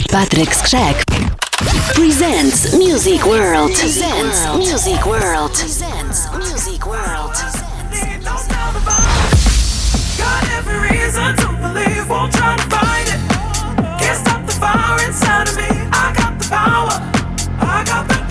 Patrick Skrzek presents Music World. Presents Music World. Presents Music World. Got every reason to believe, won't try to find it. Can't stop the fire inside of me. I got the power. I got the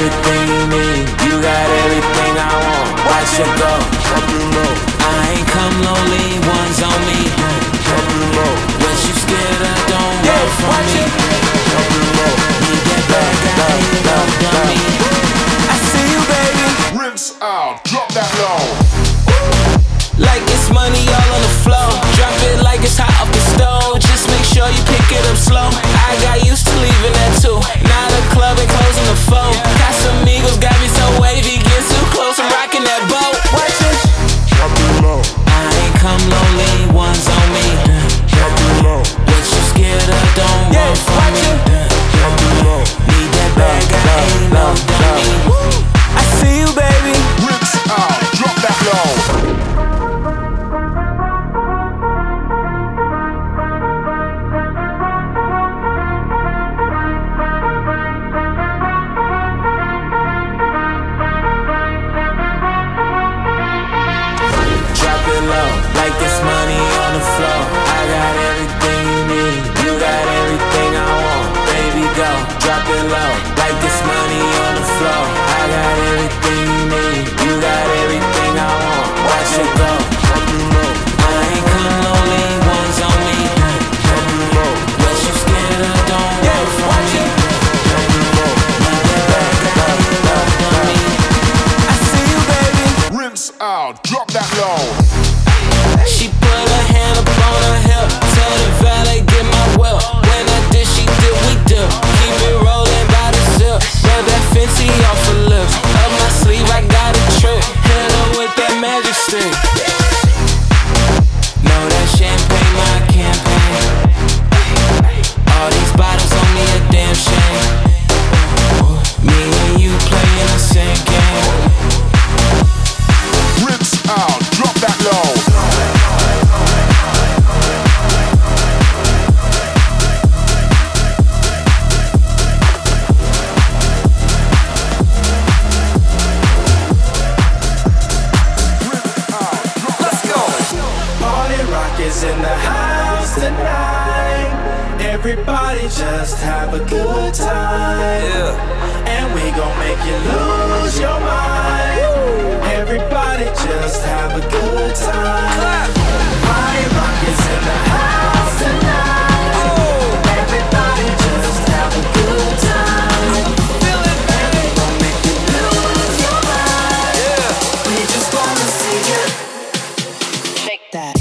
everything you need. You got everything I want. Watch it go. I ain't come lonely, one's on me. What you scared of, don't run from me. Need that bad guy, you know, dummy. I see you, baby. Rinse out, drop that low. Like it's money all on the floor. Drop it like it's hot off the stove. Just make sure you pick it up slow. I got used to leaving that too. Now the club ain't closing the phone. Casamigos got me so wavy. Get too close, I'm rocking that boat. Watch it. Drop it low. I ain't come lonely, one's on me. Drop it low. What you scared of, don't run from me. Drop it low. Need that bad guy, ain't no dummy. I see you, baby. Rinse out, drop that low. Like this money on the floor. I got everything you need. You got everything I want. Baby, go, drop it low. Like this money on the floor. I got everything you need. You got everything I want. Watch it go. I ain't come lonely, one's on me. What you scared of, don't run from me. Need that bad guy, you know, dummy. I see you, baby. Rinse out, drop that low. She put her hand up on her hip. Tell the valet get my will. When I did, she did, we did. Keep it rolling by the zip. Rub that Fenty off her lips. Up my sleeve, I got a trick. Hit her with that magic stick. Know that champagne my campaign. All these bottles on me a damn shame. Me and you playing the same game. Rinse out, drop that low. In the house tonight, everybody just have a good time. Yeah. And we gon' make you lose your mind. Everybody just have a good time. Party rock is in the house tonight. Everybody just have a good time. And we gon' make you lose your mind. Yeah. We just wanna see you shake that.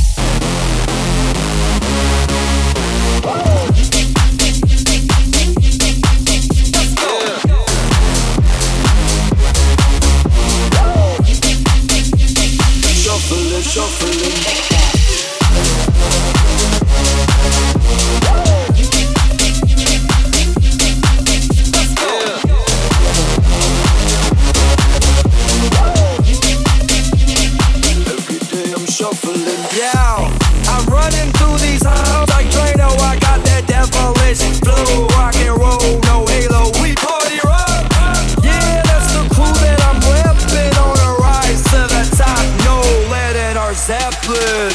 Shuffle it. Every day I'm shuffling. Yeah, I'm running through these halls like Drano. I got that devilish flow, rock and roll, no halo. We party rock. Yeah, that's the crew that I'm repping on a rise to the top. No lead in our Zeppelin.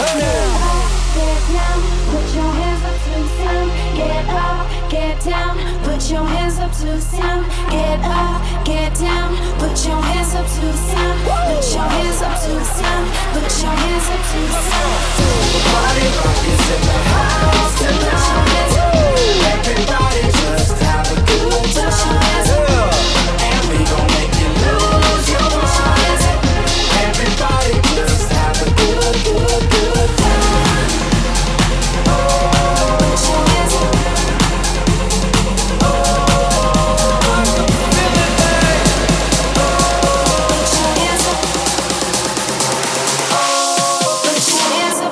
Get down, put your hands up to the sound. Get up, get down, put your hands up to the sound. Put your hands up to the sound. Put your hands up to the sound. Party rock is in the house tonight. Everybody just have a good time. And we gon' make you lose your mind. Everybody just have a good time. Put your hands up. Put your hands up.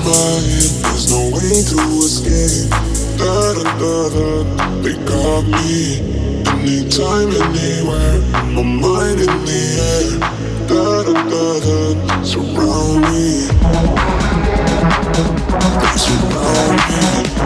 There's no way to escape. Da da da da. They got me. Anytime, anywhere. My mind in the air. Da da da da. Surround me. They surround me.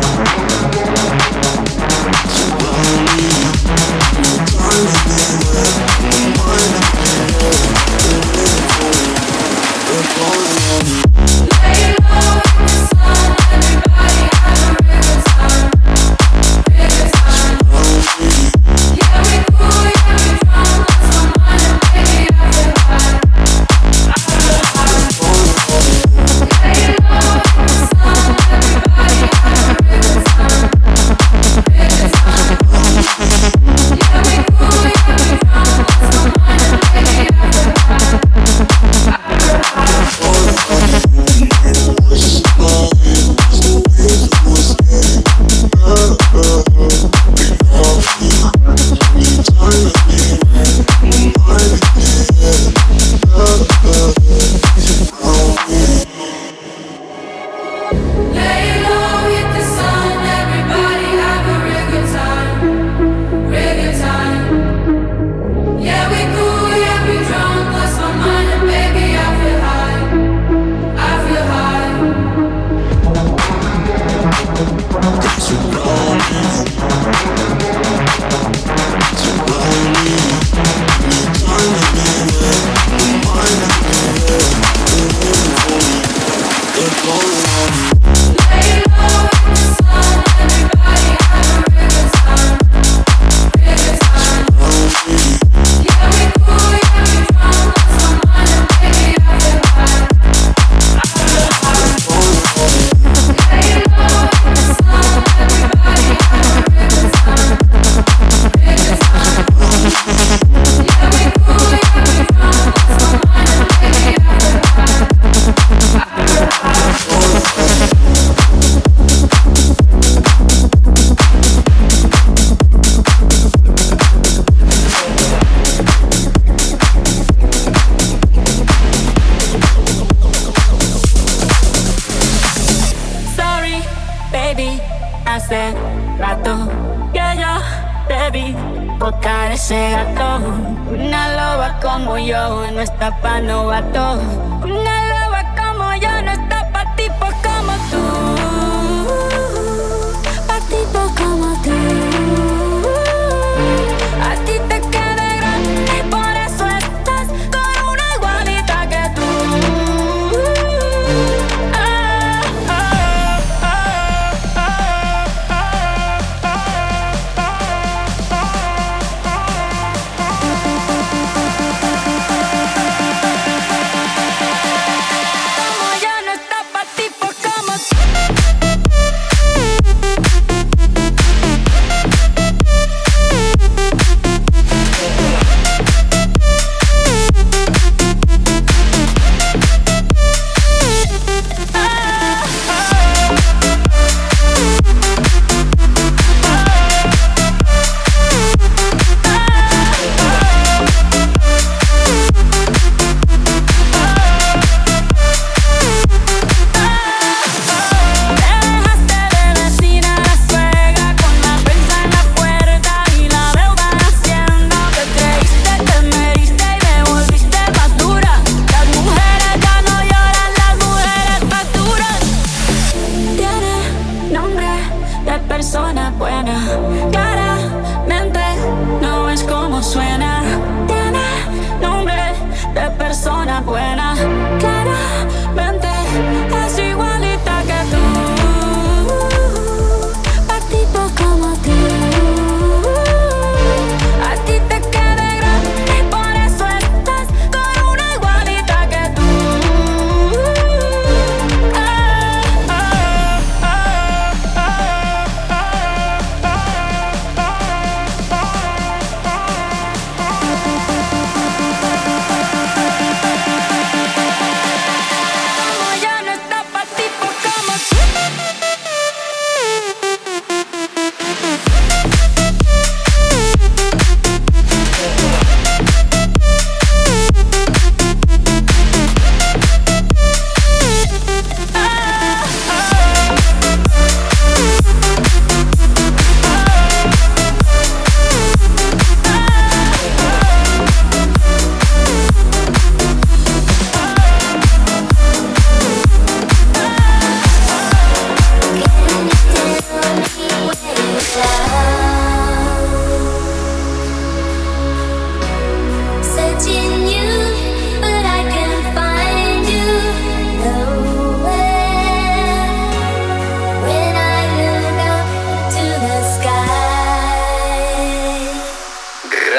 Surround me. Anytime, anywhere. My mind in the air. They're waiting for me. They're calling on me. Lay low in the sun, everybody have a real time, real time. Yeah, we cool, yeah, we drunk, lost my mind, and baby, I feel high, I feel high. Lay low in the sun, everybody have a real time, real time. Yeah, we cool, yeah, we drunk, lost my mind, and baby, I feel high, I feel high.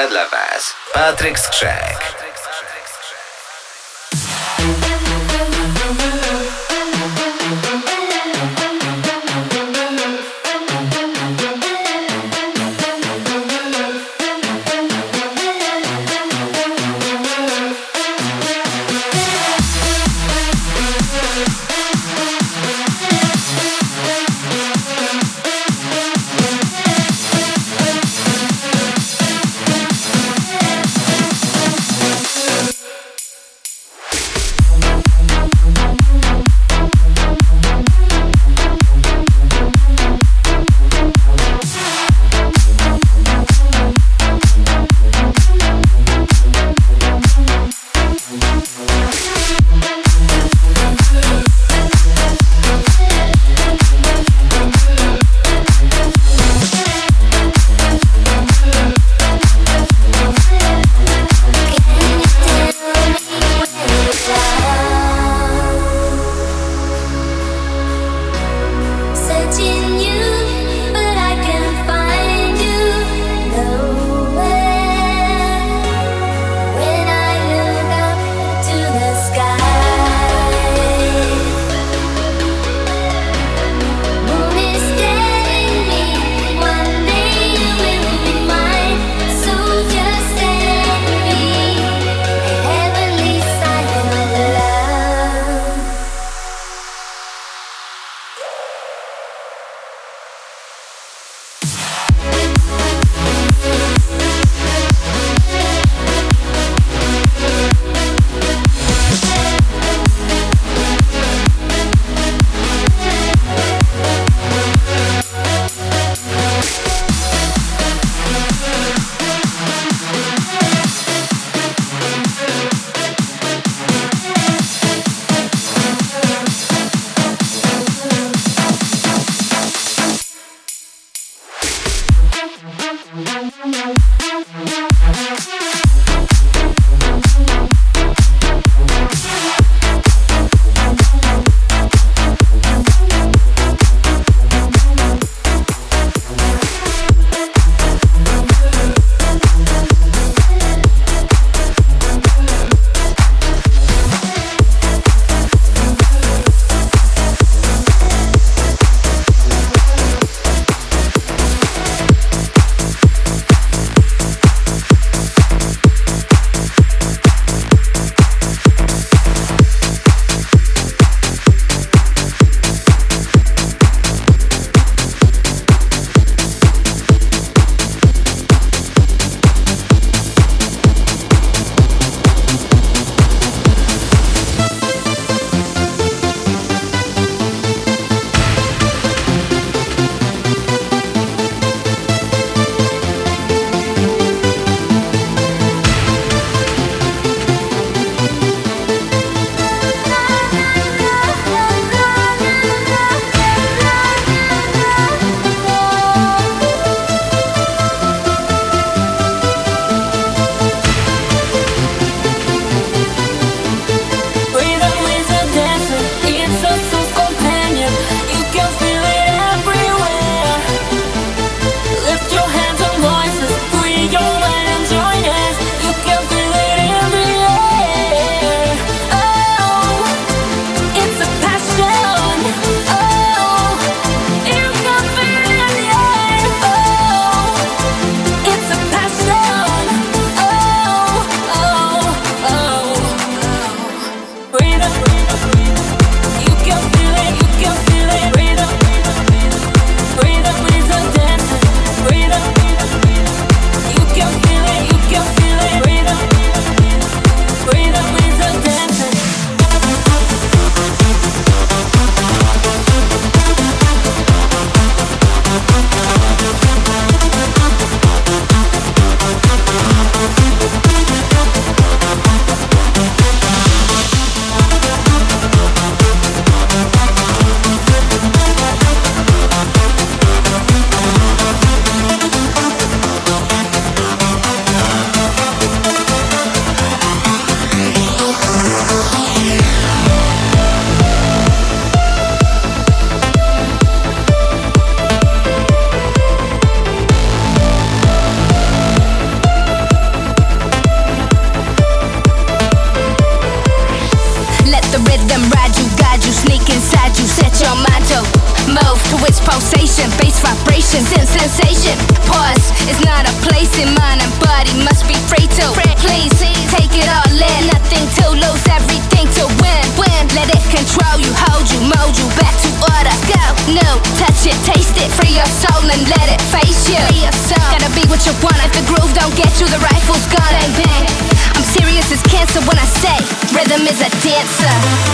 zagra dla Was Patryk Skrzek. pulsation, bass vibration, sensation. Pause is not a place in mind and body must be free to. Please take it all in, nothing to lose, everything to win. Let it control you, hold you, mold you back to order. Go, no, touch it, taste it, free your soul and let it face you. Gotta be what you want. If the groove don't get you, the rifle's gone. Bang bang. I'm serious as cancer when I say rhythm is a dancer.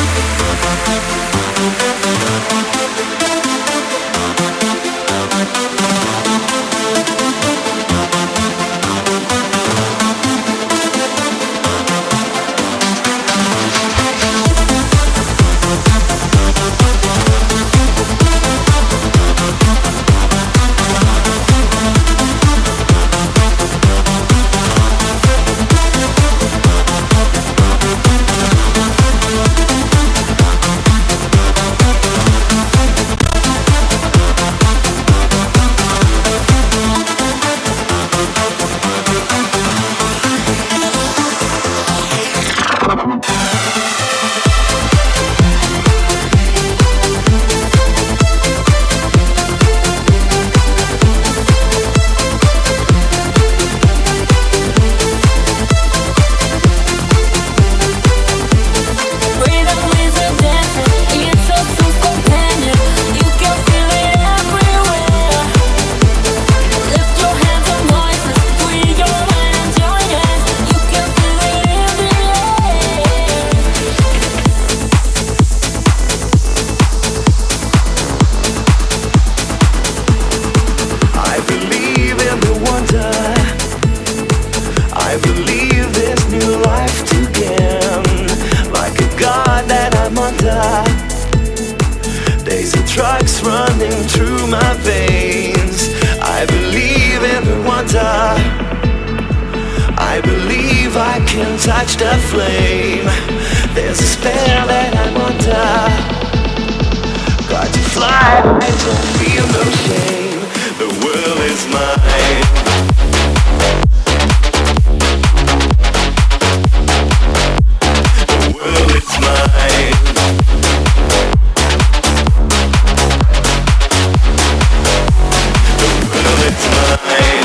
Touch the flame. There's a spell that I'm under. Got to fly, I don't feel no shame. The world is mine. The world is mine. The world is mine.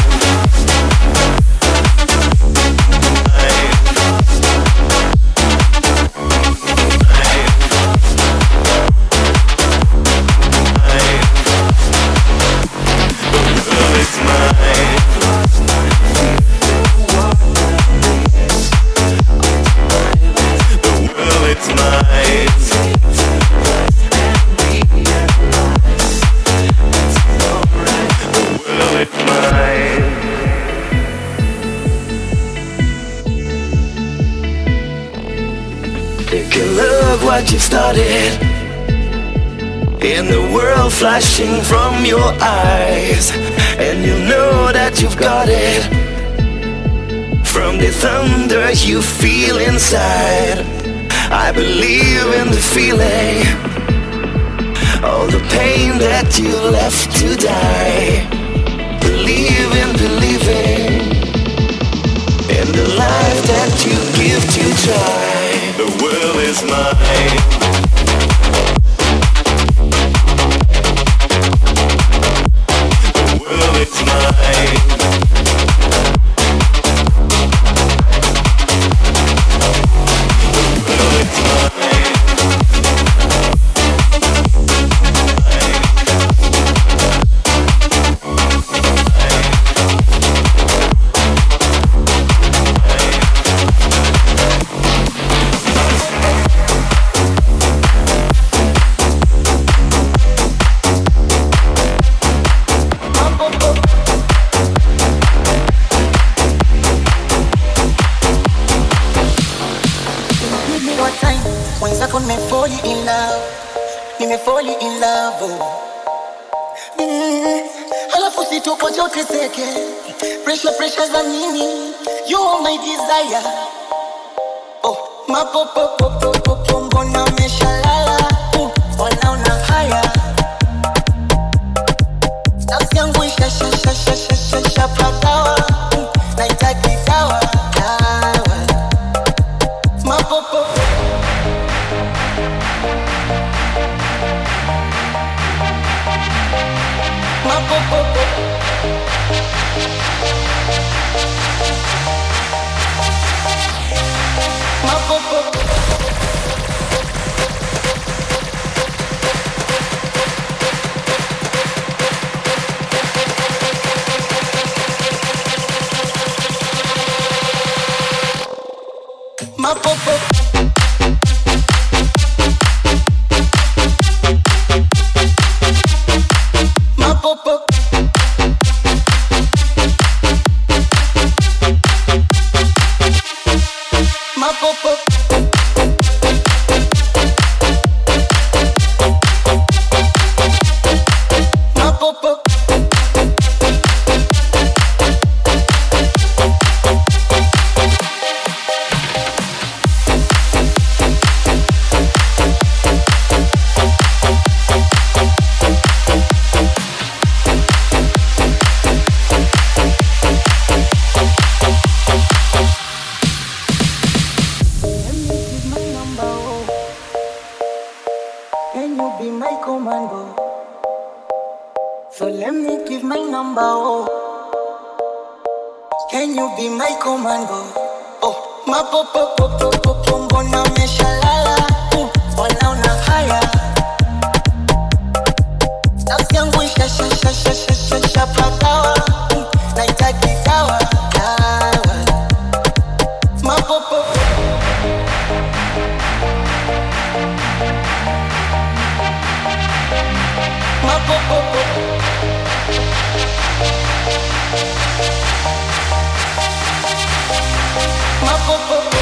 What you started in the world flashing from your eyes, and you know that you've got it from the thunder you feel inside. I believe in the feeling, all the pain that you left to die. Believe in believing in the life that you give to try. The world is mine. The world is mine. The world is mine. Halafu sitokoje uteseke, pressure za nini? You are my desire. Oh, mapopo mbona umeshalala? Mbona una haya? Nafsi yangu isha pagawa. Nahitaji dawa. Mapopo Mapopopo. Mapopopo. Mapopopo. Mapopopo. Mapopopo. Mapopopo. Can you be my commando? So let me give my number, oh. Can you be my commando? Oh, mapopopopopopo, mbona umeshalala? Wala una haya. Nafsi yangu ishashapagawa. Nahitaji dawa, dawa. Mapopopo. Mapopopo. Mapopopo.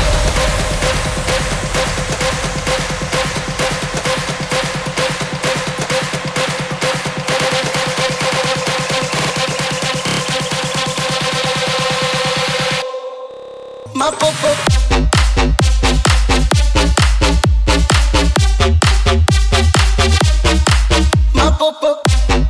Mapopopo. Mapopopo.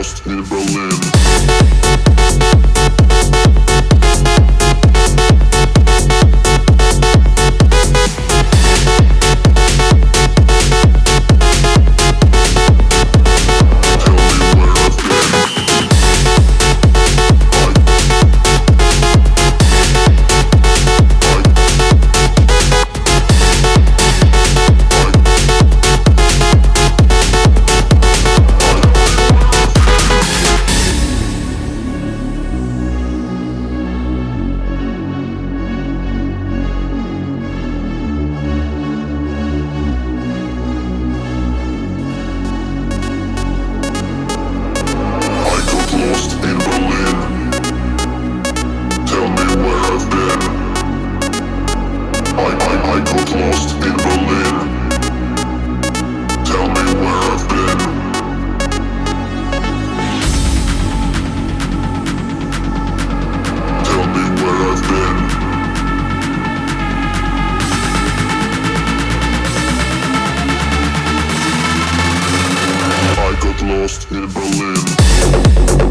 lost in Berlin. Lost in Berlin.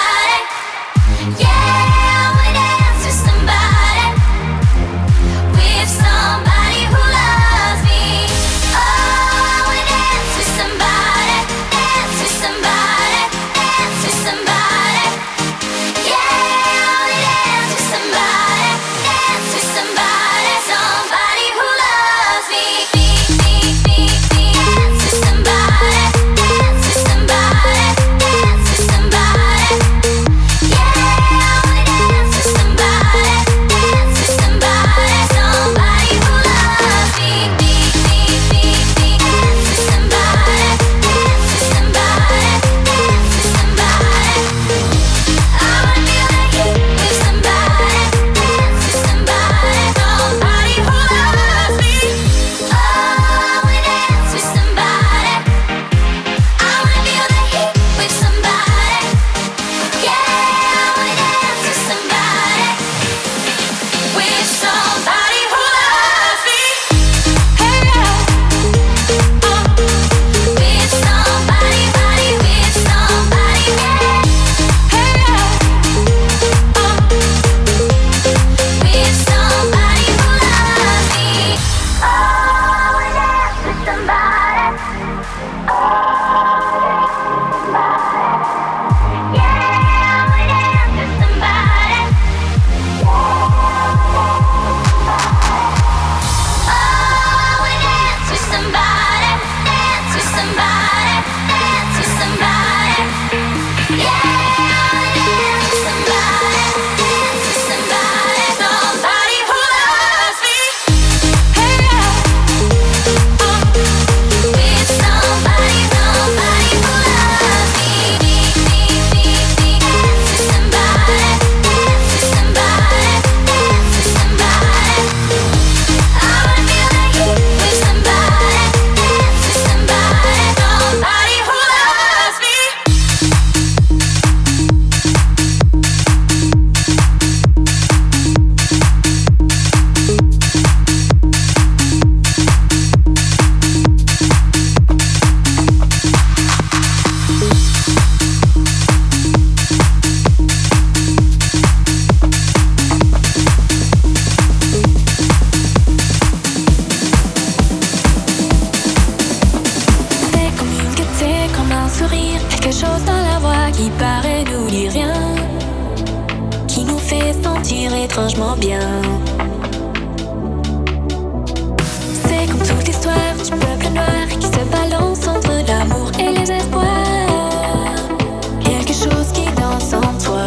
étrangement bien. C'est comme toute l'histoire du peuple noir qui se balance entre l'amour et les espoirs. Quelque chose qui danse en toi.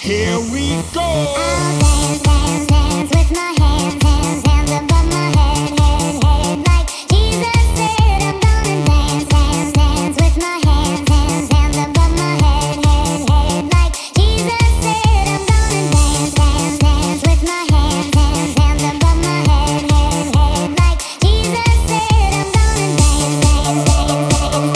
Here we go. I'll dance, dance, dance with my hands, hands, hands above my head, head, head. Like Jesus said, I'm gonna dance, dance, dance with my hands, hands, hands above my head, head, head. Like Jesus said, I'm gonna dance, dance, dance with my hands, hands, hands above my head, head, head. Like Jesus said, I'm gonna dance, dance, dance,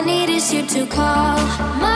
need is you to call. My